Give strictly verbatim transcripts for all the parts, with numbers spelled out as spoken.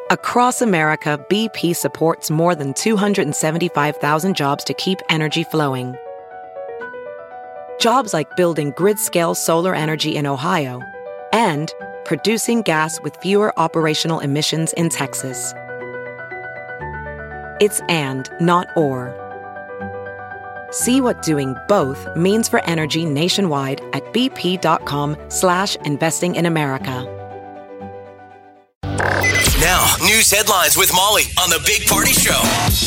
Across America, B P supports more than two hundred seventy-five thousand jobs to keep energy flowing. Jobs like building grid-scale solar energy in Ohio and producing gas with fewer operational emissions in Texas. It's and, not or. See what doing both means for energy nationwide at bp.com slash investing in America. Now, news headlines with Molly on the Big Party Show.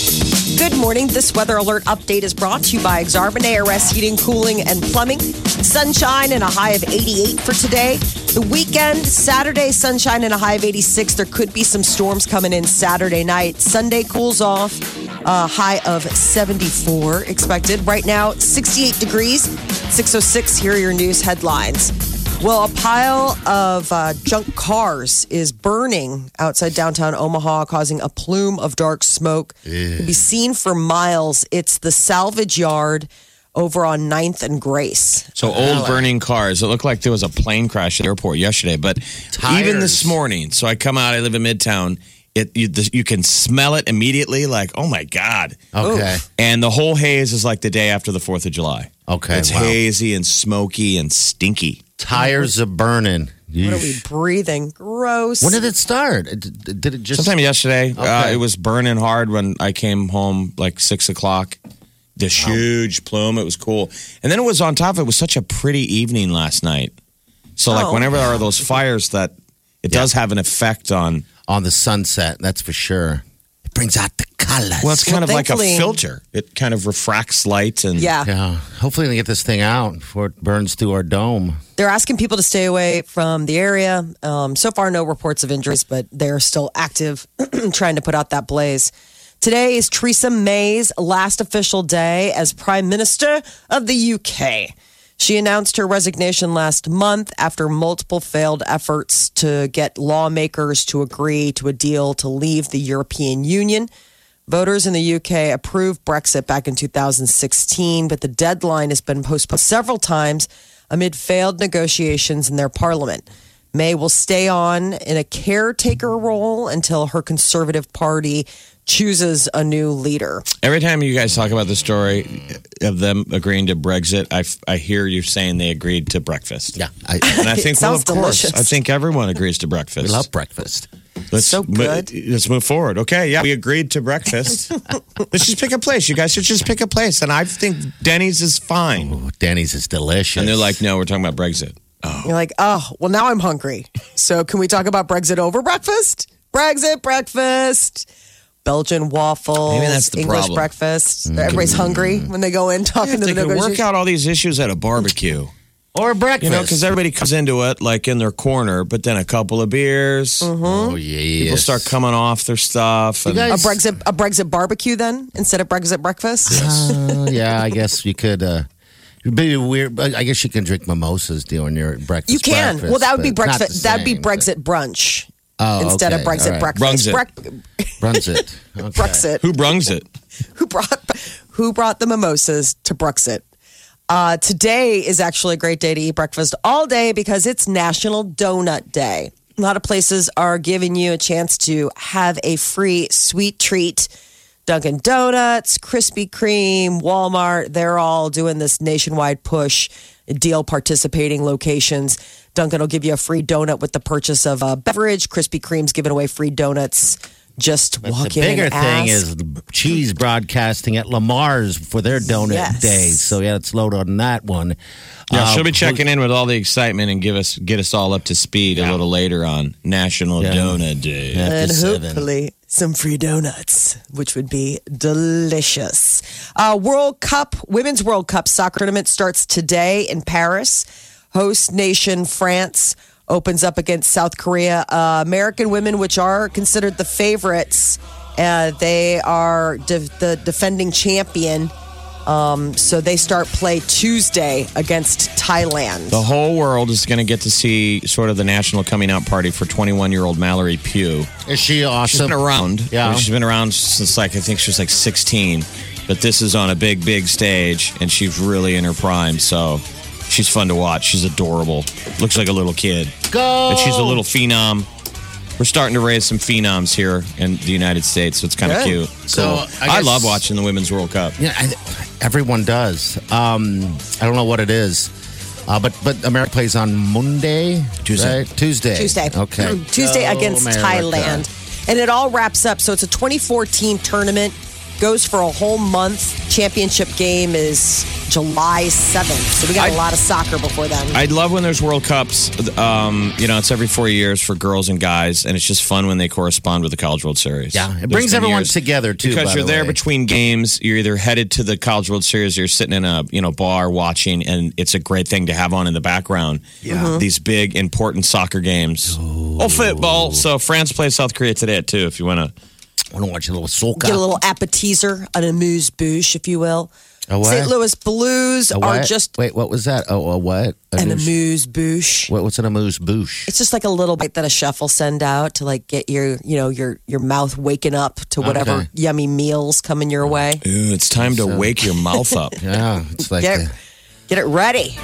Good morning. This weather alert update is brought to you by Exarban A R S Heating, Cooling, and Plumbing. Sunshine and a high of eighty-eight for today. The weekend, Saturday, sunshine and a high of eighty-six. There could be some storms coming in Saturday night. Sunday cools off, a high of seventy-four expected. Right now, sixty-eight degrees, six oh six. Here are your news headlines. Well, a pile of uh, junk cars is burning outside downtown Omaha, causing a plume of dark smoke. It can be seen for miles. It's the salvage yard over on ninth and Grace. So old burning cars. It looked like there was a plane crash at the airport yesterday. But Tires. Even this morning, so I come out, I live in Midtown, it you, the, you can smell it immediately, like, oh my God. Okay. Ooh. And the whole haze is like the day after the fourth of July. Okay, It's wow. hazy and smoky and stinky. Tires are burning. What are we breathing? Gross. When did it start? Did it just... Sometime yesterday. Okay. Uh, it was burning hard when I came home like six o'clock. This wow. huge plume. It was cool. And then it was on top of it. It was such a pretty evening last night. So like Oh. whenever there are those fires that it Yeah. does have an effect on... On the sunset, that's for sure. It brings out the colors. Well, it's kind Well, of like a thankfully- filter. It kind of refracts light and... Yeah. Yeah. Hopefully they get this thing out before it burns through our dome. They're asking people to stay away from the area. Um, so far, no reports of injuries, but they're still active trying to put out that blaze. Today is Theresa May's last official day as Prime Minister of the U K. She announced her resignation last month after multiple failed efforts to get lawmakers to agree to a deal to leave the European Union. Voters in the U K approved Brexit back in two thousand sixteen, but the deadline has been postponed several times amid failed negotiations in their parliament. May will stay on in a caretaker role until her Conservative Party chooses a new leader. Every time you guys talk about the story of them agreeing to Brexit, I, I hear you saying they agreed to breakfast. Yeah. I, And I think, well, of sounds course, delicious. I think everyone agrees to breakfast. we love breakfast. Let's, So good. mo- let's move forward. Okay, yeah, we agreed to breakfast. Let's just pick a place. You guys should just pick a place. And I think Denny's is fine. Ooh, Denny's is delicious. And they're like, no, we're talking about Brexit. You're like, oh, well, now I'm hungry. So can we talk about Brexit over breakfast? Brexit breakfast. Belgian waffles. Maybe that's the English problem. breakfast. Everybody's hungry when they go in talking If to they the could work negotiators. out all these issues at a barbecue. Or breakfast. You know, because everybody comes into it like in their corner, but then a couple of beers, Oh, yeah. people start coming off their stuff. And guys- A Brexit, a Brexit barbecue then instead of Brexit breakfast. Uh, yeah, I guess you could. Uh, it'd be weird. But I guess you can drink mimosas during your breakfast. You can. breakfast, Well, that would be but it's not breakfast. the That'd be same, Brexit brunch Oh, instead okay. of Brexit All right. breakfast. Brungs it. Brec- but Runs it. Okay. Brexit. who brungs it? Who brought who brought the mimosas to Brexit? Uh, today is actually a great day to eat breakfast all day because it's National Donut Day. A lot of places are giving you a chance to have a free sweet treat. Dunkin' Donuts, Krispy Kreme, Walmart, they're all doing this nationwide push, deal participating locations. Dunkin' will give you a free donut with the purchase of a beverage. Krispy Kreme's giving away free donuts. Just But walk the in bigger and thing ask. is cheese broadcasting at Lamar's for their donut Yes. days. So yeah, let's load on that one. Yeah, Uh, she'll be checking in with all the excitement and give us get us all up to speed a little later on National Yeah. Donut Day. After And seven. hopefully some free donuts, which would be delicious. Uh, World Cup, Women's World Cup soccer tournament starts today in Paris. Host nation France opens up against South Korea. Uh, American women, which are considered the favorites, uh, they are de- the defending champion. Um, so they start play Tuesday against Thailand. The whole world is going to get to see sort of the national coming out party for twenty-one-year-old Mallory Pugh. Is she She's awesome? been around. Yeah. She's been around since like, I think she was like sixteen. But this is on a big, big stage, and she's really in her prime. So she's fun to watch. She's adorable. Looks like a little kid. Go! But she's a little phenom. we're starting to raise some phenoms here in the United States, so it's kind of Good. cute. So, Cool. I I, guess- love watching the Women's World Cup. Yeah, I, everyone does. Um, I don't know what it is, uh, but but America plays on Monday, Tuesday. right? Tuesday, Tuesday. Okay, Tuesday Go against America. Thailand. And it all wraps up. So it's a twenty fourteen tournament, goes for a whole month. Championship game is July seventh. So we got a I- lot of soccer before then. I love when there's World Cups. Um, you know, it's every four years for girls and guys, and it's just fun when they correspond with the College World Series. Yeah, it There's brings been everyone years- together too. because by you're the there way. between games. You're either headed to the College World Series, or you're sitting in a you know bar watching, and it's a great thing to have on in the background. Yeah, these big important soccer games. Oh, football. So France plays South Korea today at two. If you want to. I want to watch a little soca. Get a little appetizer, an amuse bouche, if you will. A what? Saint Louis Blues A are what? just Wait, what was that? Oh, a what? A an amuse- amuse bouche. What, what's an amuse bouche? It's just like a little bite that a chef will send out to like get your, you know, your your mouth waking up to whatever Okay. yummy meals coming your way. Ooh, it's time to wake your mouth up. Yeah, it's like Get, the- get it ready.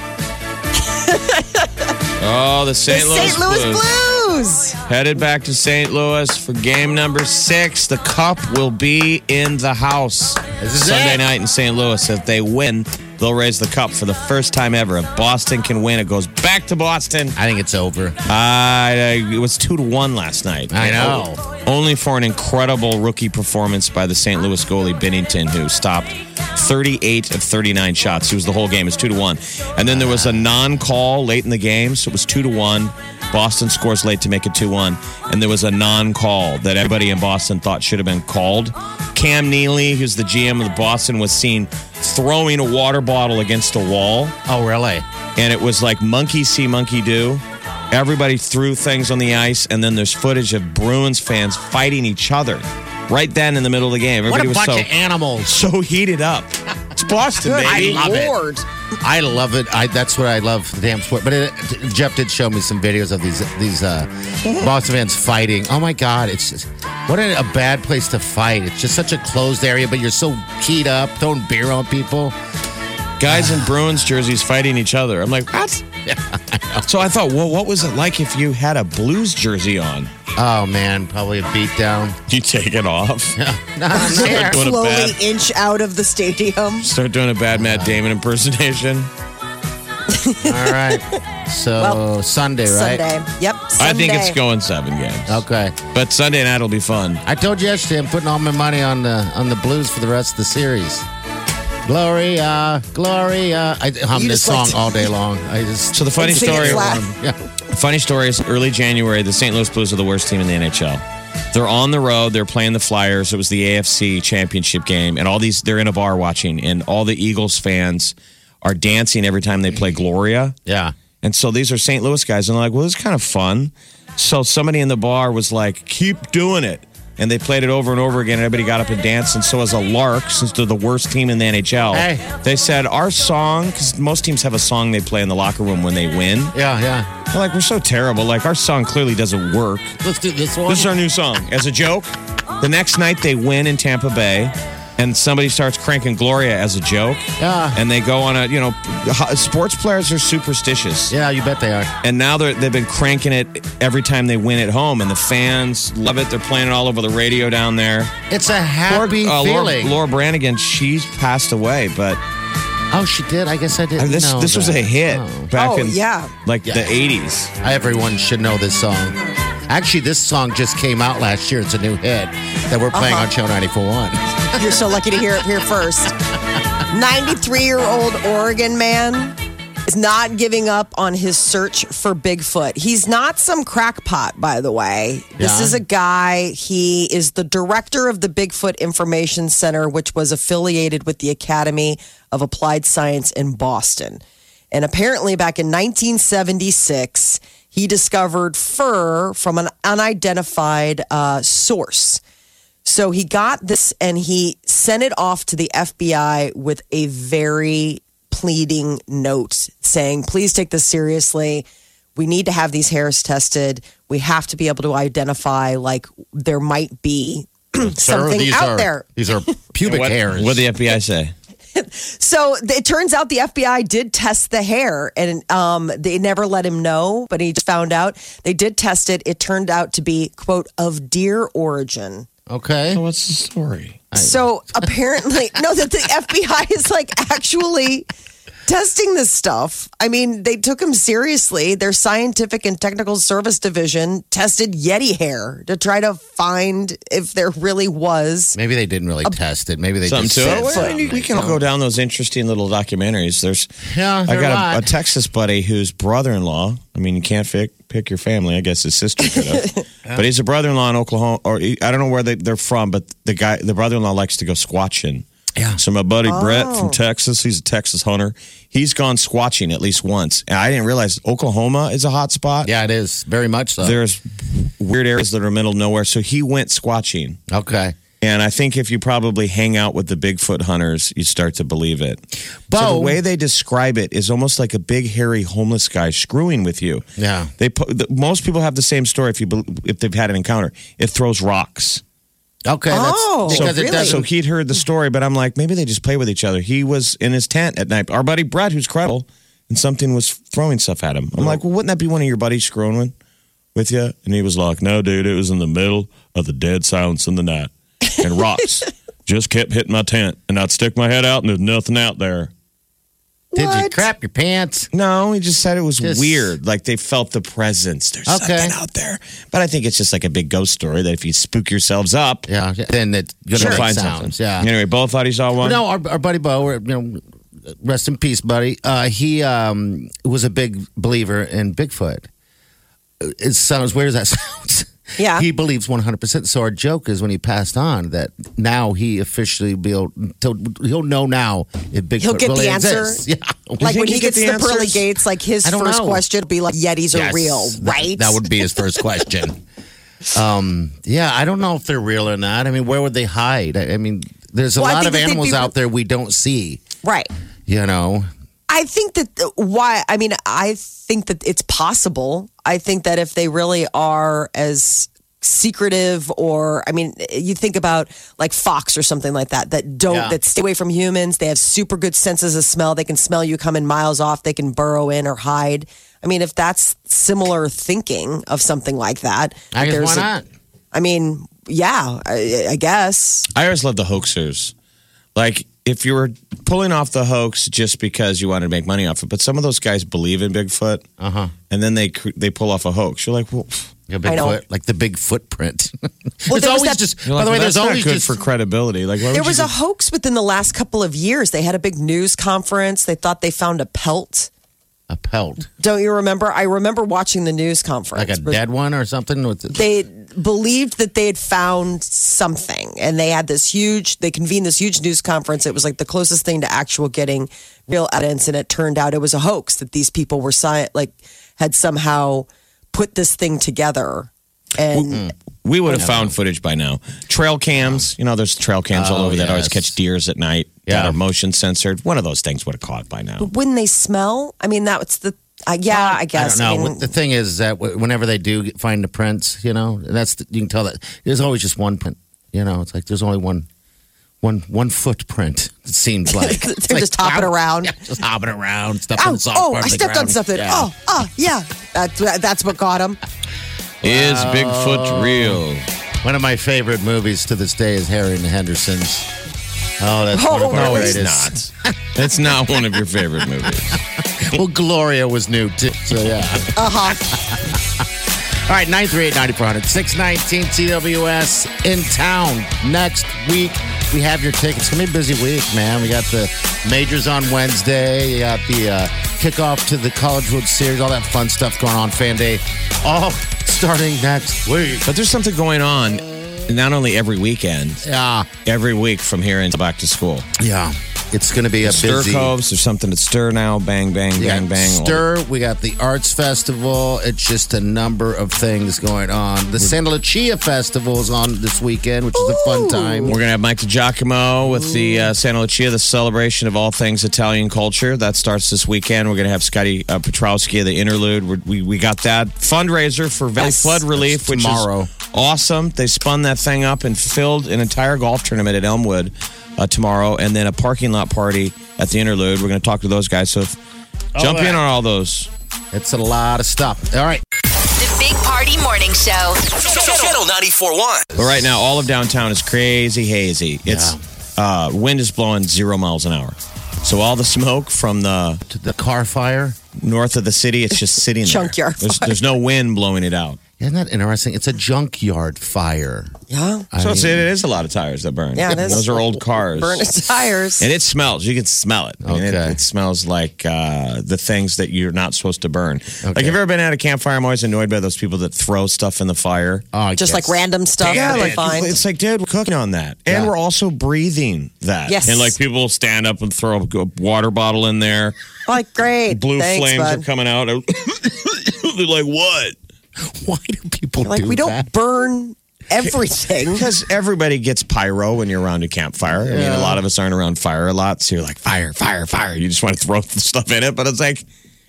Oh, the The Saint Louis, Saint Louis Blues. Blues. Headed back to Saint Louis for game number six. The cup will be in the house This is Sunday it. night in Saint Louis. If they win, they'll raise the cup for the first time ever. If Boston can win, it goes back to Boston. I think it's over. Uh, it was two to one last night. I know. Only for an incredible rookie performance by the Saint Louis goalie Bennington, who stopped thirty-eight of thirty-nine shots. It was the whole game. It's two to one, and then there was a non-call late in the game, so it was two to one. Boston scores late to make it two one, and there was a non-call that everybody in Boston thought should have been called. Cam Neely, who's the G M of the Boston, was seen throwing a water bottle against a wall. Oh, really? And it was like monkey see, monkey do. Everybody threw things on the ice, and then there's footage of Bruins fans fighting each other right then in the middle of the game. What Everybody a was bunch so, of animals. so heated up. It's Boston, Good baby. love it. Lord. I love it. I, that's what I love, the damn sport. But it, Jeff did show me some videos of these these uh, Boston fans fighting. Oh my God, it's just what a, a bad place to fight. It's just such a closed area, but you're so keyed up, throwing beer on people. Guys in Bruins jerseys fighting each other. I'm like, what? So I thought, well, what was it like if you had a Blues jersey on? Oh man, probably a beatdown. You take it off. Not Start doing a Slowly bad, inch out of the stadium. start doing a bad Matt Damon impersonation. All right. So Well, Sunday, right? Sunday. Yep. Sunday. I think it's going seven games. Okay. But Sunday night will be fun. I told you yesterday I'm putting all my money on the on the Blues for the rest of the series. Gloria, Gloria. I hum You this just song like to- all day long. I just So the funny Sing it story. flat. yeah. Funny story is early January, the Saint Louis Blues are the worst team in the N H L. They're on the road. They're playing the Flyers. It was the A F C championship game. And all these, they're in a bar watching. And all the Eagles fans are dancing every time they play Gloria. Yeah. And so these are Saint Louis guys. And they're like, well, this is kind of fun. So somebody in the bar was like, keep doing it. And they played it over and over again. Everybody got up and danced. And so as a lark, since they're the worst team in the N H L, Hey. they said, our song, because most teams have a song they play in the locker room when they win. Yeah, yeah. They're like, we're so terrible. Like, our song clearly doesn't work. Let's do this one. This is our new song. As a joke, the next night they win in Tampa Bay, and somebody starts cranking Gloria as a joke. Yeah. And they go on a, you know, ho- sports players are superstitious. Yeah, you bet they are. And now they're, they've been cranking it every time they win at home, and the fans love it. They're playing it all over the radio down there. It's a happy Laura, uh, Laura, feeling. Laura Branigan, she's passed away, but Oh, she did? I guess I I didn't mean, this know this was that. a hit Oh. back Oh, in yeah. like Yeah. the eighties. Everyone should know this song. Actually, this song just came out last year. It's a new hit that we're playing Uh-huh. on Channel ninety-four point one. You're so lucky to hear it here first. ninety-three-year-old Oregon man is not giving up on his search for Bigfoot. He's not some crackpot, by the way. This Yeah. is a guy, he is the director of the Bigfoot Information Center, which was affiliated with the Academy of Applied Science in Boston. And apparently back in nineteen seventy-six, he discovered fur from an unidentified uh, source. So he got this and he sent it off to the F B I with a very pleading note saying, please take this seriously. We need to have these hairs tested. We have to be able to identify, like, there might be something these out are, there. These are pubic what, hairs. What did the F B I say? So it turns out the F B I did test the hair, and um, they never let him know, but he just found out. They did test it. It turned out to be, quote, of deer origin. Okay. So what's the story? So apparently, no, that the F B I is like actually testing this stuff. I mean, they took him seriously. Their scientific and technical service division tested Yeti hair to try to find if there really was. Maybe they didn't really test it. Maybe they Something just to said it. Well, something. we can go down those interesting little documentaries. There's, Yeah, I there are a got lot. a, a Texas buddy whose brother-in-law. I mean, you can't pick pick your family. I guess his sister could have, but he's a brother-in-law in Oklahoma, or he, I don't know where they, they're from, but the guy, the brother-in-law, likes to go squatching. Yeah. So my buddy Brett from Texas, he's a Texas hunter. He's gone squatching at least once, and I didn't realize Oklahoma is a hot spot. Yeah, it is. Very much so. There's weird areas that are middle of nowhere. So he went squatching. Okay. And I think if you probably hang out with the Bigfoot hunters, you start to believe it. Bo. So the way they describe it is almost like a big, hairy, homeless guy screwing with you. Yeah. They pu- the, most people have the same story if you bel- if they've had an encounter. It throws rocks. Okay. Oh, that's, because really? it does. So he'd heard the story, but I'm like, maybe they just play with each other. He was in his tent at night. Our buddy Brett, who's credible, and something was throwing stuff at him. I'm like, well, wouldn't that be one of your buddies screwing with, with you? And he was like, no, dude, it was in the middle of the dead silence in the night. And rocks just kept hitting my tent. And I'd stick my head out, and there's nothing out there. Did you What? crap your pants? No, he just said it was Just- weird. Like they felt the presence. There's Okay. something out there. But I think it's just like a big ghost story that if you spook yourselves up, Yeah. Then it's going to you'll make find sounds. something. Yeah. Anyway, both thought he saw one. No, our, our buddy Bo, we're, you know, rest in peace, buddy. Uh, he um, was a big believer in Bigfoot. It sounds weird as that sounds. Yeah. He believes one hundred percent. So our joke is when he passed on that now he officially be able, he'll know now if Bigfoot He'll get really the answer? exists. Yeah. Like think when he he get gets the the pearly answers? gates, like his I don't first know. question would be like, Yetis are Yes, real, that- right? That would be his first question. um, yeah, I don't know if they're real or not. I mean, where would they hide? I, I mean, there's a Well, I lot think of that they'd animals be- out there we don't see, Right. you know? I think that the- why, I mean, I think that it's possible. I think that if they really are as secretive or, I mean, you think about like fox or something like that, that don't, Yeah. that stay away from humans. They have super good senses of smell. They can smell you coming miles off. They can burrow in or hide. I mean, if that's similar thinking of something like that, I guess there's why a- not? I mean, yeah, I, I guess. I always love the hoaxers. Like, if you were pulling off the hoax just because you wanted to make money off it, but some of those guys believe in Bigfoot, Uh-huh. and then they cr- they pull off a hoax. You're like, well, A I know. Bigfoot, like the big footprint. Well, there's there was always that- just, you're by like, the way, well, there's that's not always good just for credibility. Like, why There would was you a hoax within the last couple of years. They had a big news conference. They thought they found a pelt. a pelt, Don't you remember? I remember watching the news conference. like a dead one or something. With the, They believed that they had found something, and they had this huge. They convened this huge news conference. It was like the closest thing to actual getting real evidence, and it turned out it was a hoax. That these people were sci- like had somehow put this thing together, and We would have found footage by now. Trail cams, you know, there's trail cams all Oh, over that always yes. catch deers at night that Yeah. are motion censored. One of those things would have caught by now. wouldn't they smell? I mean, that's the. Uh, yeah, I guess. I don't know. mean, the thing is that w- whenever they do get- find the prints, you know, that's the, you can tell that there's always just one print. You know, it's like there's only one, one, one footprint. It seems like It's They're like, just hopping wow, around. yeah, just hopping around, stuff in Oh, the soft oh! part I of the stepped on ground. something. Yeah. Oh, oh, yeah. That's that's what got him. Is Bigfoot real? One of my favorite movies to this day is Harry and the Hendersons. Oh, that's Oh, one of our no, It's greatest. not. It's not one of your favorite movies. Well, Gloria was new too. So yeah. Uh huh. All right, nine three eight, nine four hundred, six nineteen T W S in town next week. We have your tickets. It's going to be a busy week, man. We got the majors on Wednesday. You got the uh, kickoff to the College World Series, all that fun stuff going on, Fan Day, all starting next week. But there's something going on not only every weekend, Yeah, every week from here until back to school. yeah. It's going to be a Stir busy... Coves, there's something at Stir now. Bang, bang, Yeah, bang, bang. Stir. We got the Arts Festival. It's just a number of things going on. The Santa Lucia Festival is on this weekend, which is a fun time. We're going to have Mike DiGiacomo with the uh, Santa Lucia, the celebration of all things Italian culture. That starts this weekend. We're going to have Scotty uh, Petrowski, the interlude. We're, we we got that fundraiser for Valley Yes. Flood Relief, which tomorrow. is awesome. They spun that thing up and filled an entire golf tournament at Elmwood uh, tomorrow, and then a parking lot party at the Interlude. We're going to talk to those guys. So if, Oh, jump yeah. in on all those. It's a lot of stuff. All right. The Big Party Morning Show. Channel ninety-four point one. But right now, all of downtown is crazy hazy. It's uh, wind is blowing zero miles an hour. So all the smoke from the To the car fire. north of the city, it's just sitting there. Junkyard There's, fire. there's no wind blowing it out. Isn't that interesting? It's a junkyard fire. Yeah. I So it's, mean, it is a lot of tires that burn. Yeah, it is. Those are old cars. Burning tires. And it smells. You can smell it. I mean, it, Okay. it smells like uh, the things that you're not supposed to burn. Like, have you ever been at a campfire? I'm always annoyed by those people that throw stuff in the fire. oh, I Just guess. like random stuff Yeah, that they like, find. it's like, dude, we're cooking on that. And Yeah. we're also breathing that. Yes. And like people will stand up and throw a water bottle in there. Like, great. Blue Thanks, flames bud. are coming out. They're like, what? Why do people Like, do we don't that? burn everything. Because everybody gets pyro when you're around a campfire. I mean, a lot of us aren't around fire a lot. So you're like, fire, fire, fire. You just want to throw stuff in it. But it's like,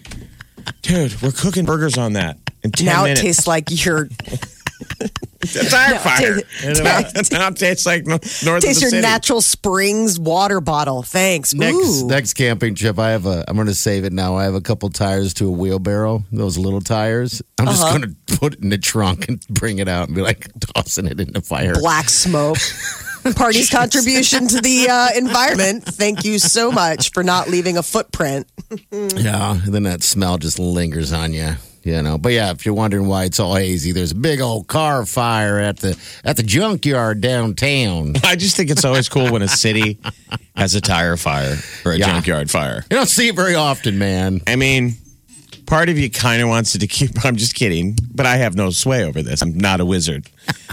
dude, we're cooking burgers on that in ten Now minutes. it tastes like you're It's tire fire. it- Now it tastes like no- north of taste the your city. Natural Springs water bottle. Thanks. Next Ooh. next camping trip, I have a. I'm going to save it now. I have a couple tires to a wheelbarrow. Those little tires. I'm just Uh-huh. going to put it in the trunk and bring it out and be like tossing it in the fire. Black smoke. Party's contribution to the uh, environment. Thank you so much for not leaving a footprint. Yeah, and then that smell just lingers on you. You know, but yeah, if you're wondering why it's all hazy, there's a big old car fire at the at the junkyard downtown. I just think it's always cool when a city has a tire fire or a Yeah. junkyard fire. You don't see it very often, man. I mean, part of you kind of wants it to keep. I'm just kidding, but I have no sway over this. I'm not a wizard.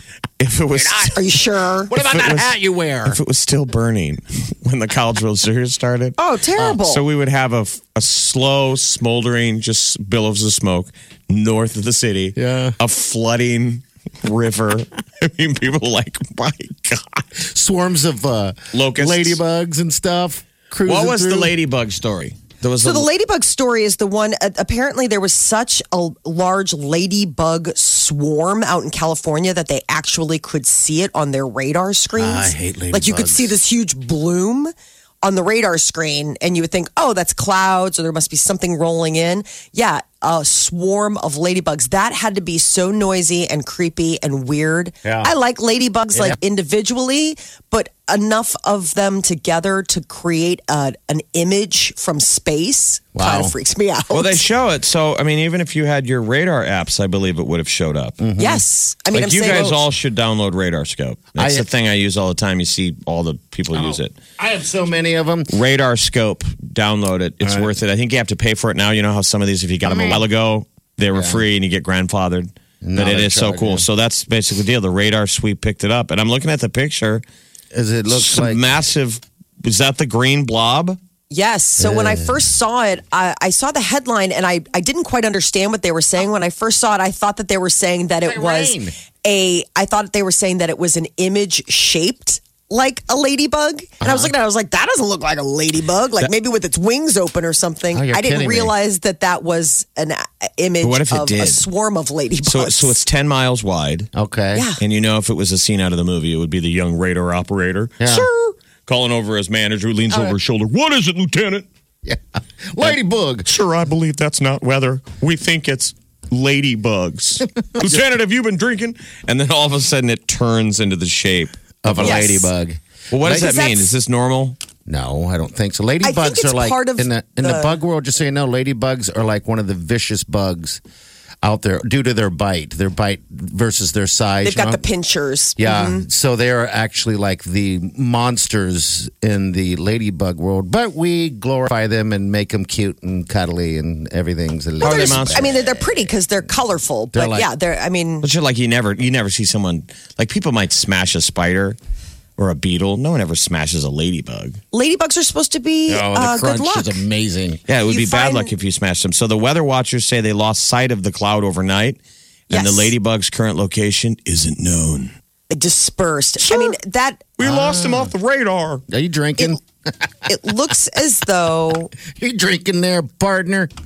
If it was, Are you sure? What about If it that was- hat you wear? if it was still burning when the College World Series started, Oh, terrible. so we would have a, a slow, smoldering, just billows of smoke north of the city. Yeah. A flooding river. I mean, people are like, my God. Swarms of uh, Locusts. ladybugs and stuff. Cruising What was the through. ladybug story? There was So a, the ladybug story is the one. Uh, apparently, there was such a large ladybug swarm out in California that they actually could see it on their radar screens. I hate Like you could ladybugs. see this huge bloom on the radar screen, and you would think, "Oh, that's clouds, or there must be something rolling in." Yeah, a swarm of ladybugs. That had to be so noisy and creepy and weird. Yeah. I like ladybugs Yeah. like individually, but enough of them together to create a, an image from space Wow. kind of freaks me out. well, they show it. So, I mean, even if you had your radar apps, I believe it would have showed up. Yes, I mean, Like I'm you saying, guys all should download Radar Scope. That's I- the thing I use all the time. You see all the people use it. I have so many of them. Radar Scope, download it. It's All right. worth it. I think you have to pay for it now. You know how some of these, if you got them a while ago, they were free and you get grandfathered. Now but it they're is so charging cool. you. So that's basically the deal. The Radar Sweep picked it up, and I'm looking at the picture. As it looks Some like massive. Is that the green blob? yes. So when I first saw it, I, I saw the headline and I, I didn't quite understand what they were saying. When I first saw it, I thought that they were saying that it Like was rain. a, I thought they were saying that it was an image shaped like a ladybug. And I was looking at it, I was like, that doesn't look like a ladybug. Like maybe with its wings open or something. Oh, you're I didn't kidding me. realize that that was an uh, image But what if it of a did? swarm of ladybugs. So, so it's ten miles wide. okay. Yeah. And you know, if it was a scene out of the movie, it would be the young radar operator. Yeah. Sure. Calling over his manager who leans over his shoulder. What is it, Lieutenant? Yeah. Ladybug. Sir, I believe that's not weather. We think it's ladybugs. Lieutenant, have you been drinking? And then all of a sudden it turns into the shape. Of a Yes. ladybug. Well, what does Because that mean? that's- Is this normal? No, I don't think so. think Ladybugs it's are like part of in the in the, the- bug world. Just so you know, ladybugs are like one of the vicious bugs out there due to their bite. Their bite versus their size. They've you got know? the pinchers. Yeah, so they are actually like the monsters in the ladybug world, but we glorify them and make them cute and cuddly and everything's. A How are little they There's- monsters? I mean, they're, they're pretty because they're colorful. But They're like- yeah, they're, I mean, But you're like you never you never see someone like people might smash a spider or a beetle. No one ever smashes a ladybug. ladybugs are supposed to be Oh, the uh, good crunch luck. is amazing. Yeah, it would You be bad find- luck if you smashed them. So the weather watchers say they lost sight of the cloud overnight, and Yes. the ladybug's current location isn't known. Dispersed. I mean, that We lost him off the radar. Are you drinking? it looks as though you drinking there, partner?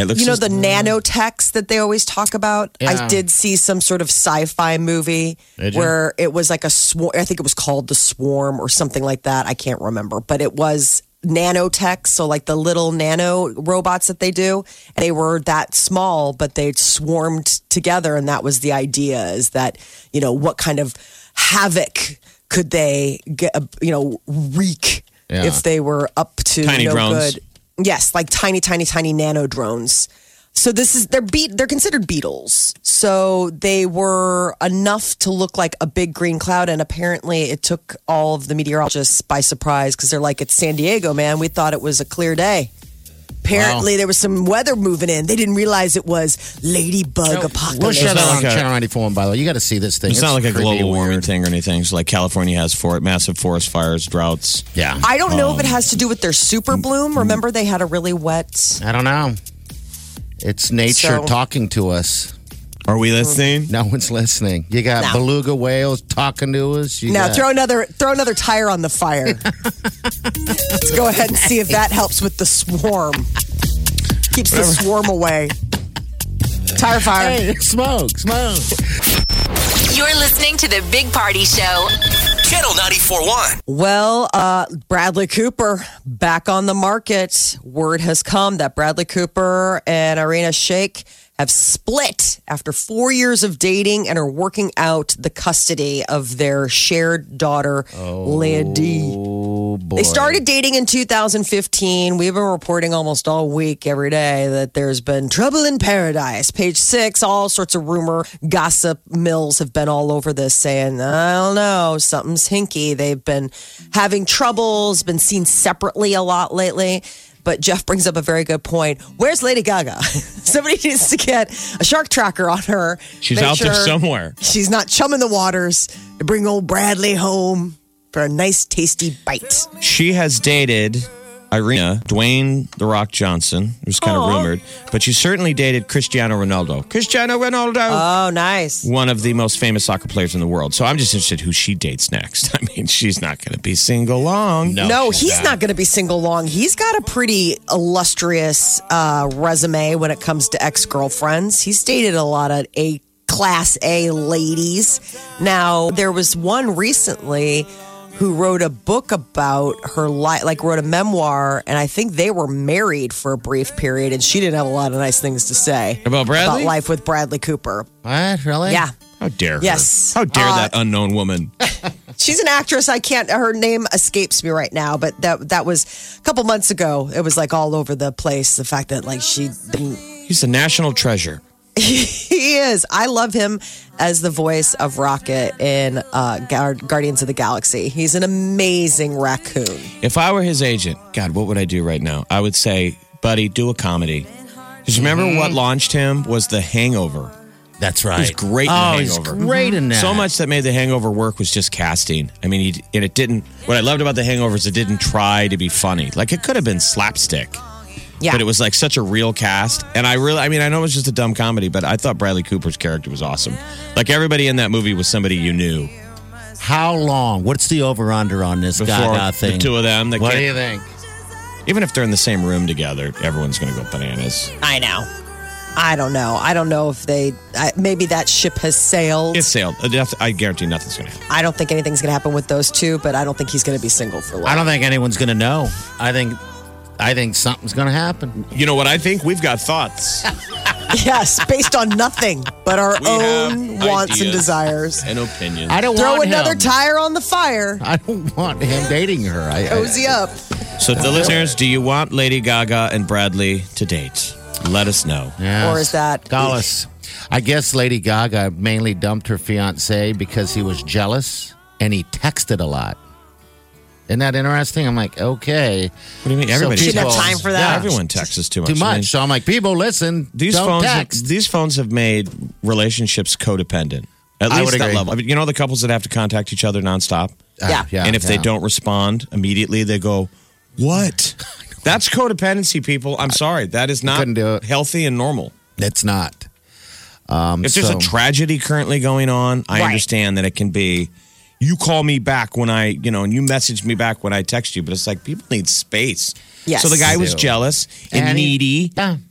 It looks You know just- the nanotechs that they always talk about? Yeah. I did see some sort of sci-fi movie Did you? where it was like a swarm. I think it was called The Swarm or something like that. I can't remember. But it was nanotechs, so like the little nano robots that they do. They were that small, but they swarmed together. And that was the idea, is that, you know, what kind of havoc could they get, you know, wreak Yeah. if they were up to Tiny no drones. good. Yes, like tiny, tiny, tiny nano drones. So this is they're beat. They're considered beetles. So they were enough to look like a big green cloud, and apparently it took all of the meteorologists by surprise because they're like, "It's San Diego, man. We thought it was a clear day." Apparently, Wow. there was some weather moving in. They didn't realize it was ladybug We'll apocalypse. shut It's not it on like a- Channel ninety-four, by the way. You got to see this thing. It's, not like a pretty global warming weird. thing or anything. It's like California has for massive forest fires, droughts. Yeah. I don't know if it has to do with their super bloom. Remember, they had a really wet. I don't know. It's nature So- talking to us. Are we listening? No one's listening. You got No. beluga whales talking to us. You Now got, throw another throw another tire on the fire. Let's go ahead and see if that helps with the swarm. Keeps the swarm away. Tire fire. Hey, smoke, smoke. You're listening to the Big Party Show. Channel ninety-four point one. Well, uh, Bradley Cooper back on the market. Word has come that Bradley Cooper and Irina Shayk have split after four years of dating and are working out the custody of their shared daughter, Leah D. Oh, boy. They started dating in two thousand fifteen. We've been reporting almost all week, every day, that there's been trouble in paradise. Page six, all sorts of rumor, gossip mills have been all over this saying, I don't know, something's hinky. They've been having troubles, been seen separately a lot lately. But Jeff brings up a very good point. Where's Lady Gaga? Somebody needs to get a shark tracker on her. She's Make out there sure somewhere. She's not chumming the waters to bring old Bradley home for a nice, tasty bite. She has dated Irina, Dwayne The Rock Johnson, who's kind of rumored, but she certainly dated Cristiano Ronaldo. Cristiano Ronaldo. Oh, nice. one of the most famous soccer players in the world. So I'm just interested who she dates next. I mean, she's not going to be single long. No, he's not going to be single long. He's got a pretty illustrious uh, resume when it comes to ex-girlfriends. He's dated a lot of A class A ladies. Now, there was one recently who wrote a book about her life, like wrote a memoir, and I think they were married for a brief period, and she didn't have a lot of nice things to say About Bradley? about life with Bradley Cooper. What? Really? Yeah. How dare her? Yes. How dare Uh, that unknown woman? She's an actress. I can't. Her name escapes me right now, but that that was a couple months ago. It was like all over the place. The fact that like she didn't. He's a national treasure. He is. I love him as the voice of Rocket in uh, Gar- Guardians of the Galaxy. He's an amazing raccoon. If I were his agent, God, what would I do right now? I would say, buddy, do a comedy. Because remember Mm-hmm. what launched him was The Hangover. That's right. He's great in Oh, The he's Hangover. great in that. So much that made The Hangover work was just casting. I mean, he, and it didn't. What I loved about The Hangover is it didn't try to be funny. Like it could have been slapstick. Yeah. But it was like such a real cast. And I really, I mean, I know it was just a dumb comedy, but I thought Bradley Cooper's character was awesome. Like everybody in that movie was somebody you knew. How long? What's the over-under on this Before Gaga thing? the two of them. That What do can't- you think? Even if they're in the same room together, everyone's going to go bananas. I know. I don't know. I don't know if they. I, maybe that ship has sailed. It's sailed. I guarantee nothing's going to happen. I don't think anything's going to happen with those two, but I don't think he's going to be single for long. I don't think anyone's going to know. I think, I think something's going to happen. You know what I think? We've got thoughts Yes, based on nothing but our We own have wants and ideas. desires. and opinions. I don't Throw want another him. tire on the fire. I don't want him dating her. I, Cozy I, up. So, the listeners, do you want Lady Gaga and Bradley to date? Let us know. Yes. Or is that- Call us. I guess Lady Gaga mainly dumped her fiance because he was jealous and he texted a lot. Isn't that interesting? I'm like, okay. What do you mean? So Everybody She didn't have people- time for that. Yeah, everyone texts us too much. Too I mean, much. So I'm like, people, listen. these don't phones, text. these phones have made relationships codependent. At I least would that agree. level. I mean, you know the couples that have to contact each other nonstop, Yeah. yeah, and if they yeah. don't respond immediately, they go, "What?" That's codependency, people. I'm sorry, that is not couldn't do it. healthy and normal. It's not. Um, If there's so- a tragedy currently going on, I Right. understand that it can be. You call me back when I, you know, and you message me back when I text you, but it's like people need space. Yes. So the guy was They do. jealous and, And he- needy, Yeah.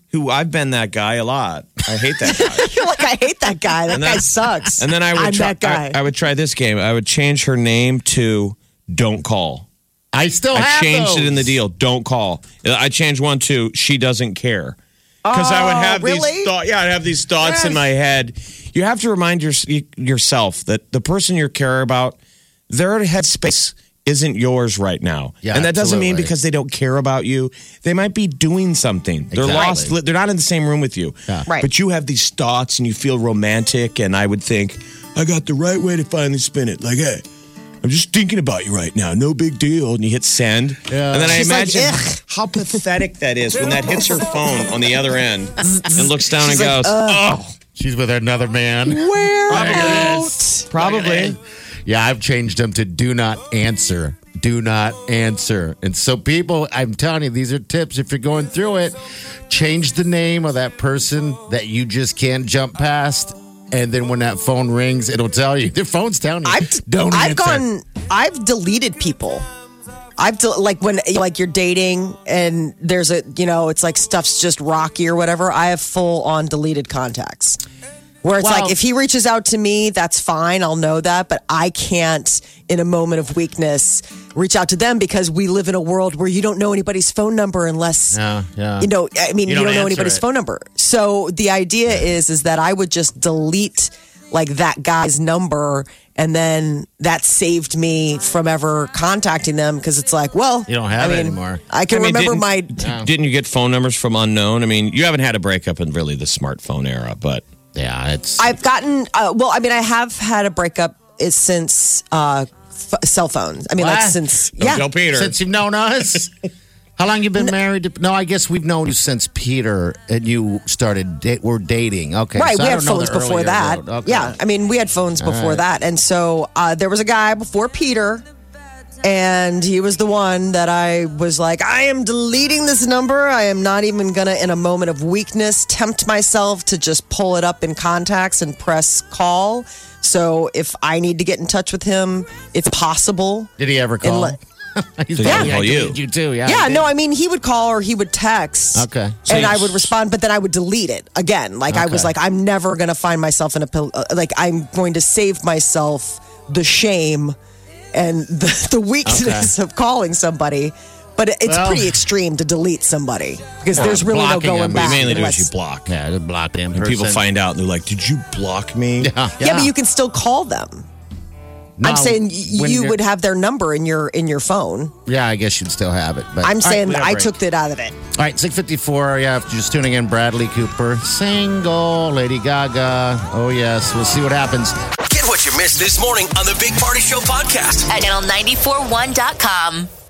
who I've been that guy a lot. I hate that guy. You're like, I hate that guy. That And then- guy sucks. And then I would I'm try, that guy. I, I would try this game. I would change her name to "Don't Call." I still I have changed those. it in the deal. Don't call. I changed one to "She doesn't care." Because I would have Oh, really? these thoughts. Yeah, I'd have these thoughts in Yes. my head. You have to remind your, yourself that the person you care about, their headspace isn't yours right now. Yeah, and that doesn't mean absolutely. because they don't care about you. They might be doing something. They're Exactly. lost. They're not in the same room with you. Yeah. Right. But you have these thoughts and you feel romantic. And I would think, I got the right way to finally spin it. Like, hey, I'm just thinking about you right now. No big deal. And you hit send. Yeah. And then She's I like, imagine "Ugh." how pathetic that is when that hits her phone on the other end and looks down and goes, oh, She's with another man. Where Look at out? this. probably. Yeah, I've changed them to do not answer. Do not answer. And so, people, I'm telling you, these are tips. If you're going through it, change the name of that person that you just can't jump past. And then when that phone rings, it'll tell you. Their phone's telling you. I've Don't I've answer. gone. I've deleted people. I've del- like when like you're dating and there's a you know it's like stuff's just rocky or whatever. I have full on deleted contacts. Where it's Well- like if he reaches out to me, that's fine. I'll know that, but I can't in a moment of weakness reach out to them because we live in a world where you don't know anybody's phone number unless Yeah, yeah. you know. I mean, You you, don't don't, know answer anybody's it. phone number. So the idea is is that I would just delete like that guy's number. And then that saved me from ever contacting them because it's like, well, You don't have I it mean, anymore. I can I mean, remember didn't- my. d- Didn't you get phone numbers from unknown? I mean, you haven't had a breakup in really the smartphone era, but Yeah, it's. I've gotten. Uh, well, I mean, I have had a breakup is since uh, f- cell phones. I mean, like What? since don't yeah. tell Peter. Since you've known us? How long you been married? To, no, I guess we've known you since Peter and you started. Da- we're dating. Okay, Right, so we I had don't know phones the before earlier that. road. Okay. Yeah, I mean, we had phones before that, and so uh, there was a guy before Peter, and he was the one that I was like, I am deleting this number. I am not even gonna, in a moment of weakness, tempt myself to just pull it up in contacts and press call. So if I need to get in touch with him, it's possible. Did he ever call? And let- He's Did he probably- call I you? deleted You too. Yeah. Yeah, he did. no, I mean, he would call or he would text. Okay. And So- I would respond, but then I would delete it again. Like, I was Okay. like, I'm never going to find myself in a pill. uh, Like, I'm going to save myself the shame and the, the weakness of calling somebody. But it- it's Well- pretty extreme to delete somebody because there's really no blocking going them. what back. you mainly do unless- is you block. Yeah, just block them. And people find out and they're like, did you block me? Yeah, yeah. but you can still call them. I'm No, saying y- when you you're- would have their number in your in your phone. Yeah, I guess you'd still have it. But I'm All right, saying we that gotta I break. took that out of it. All right, six fifty-four. Yeah, if you're just tuning in, Bradley Cooper, single, Lady Gaga. Oh yes, we'll see what happens. Get what you missed this morning on the Big Party Show podcast. At channel nine four one dot com.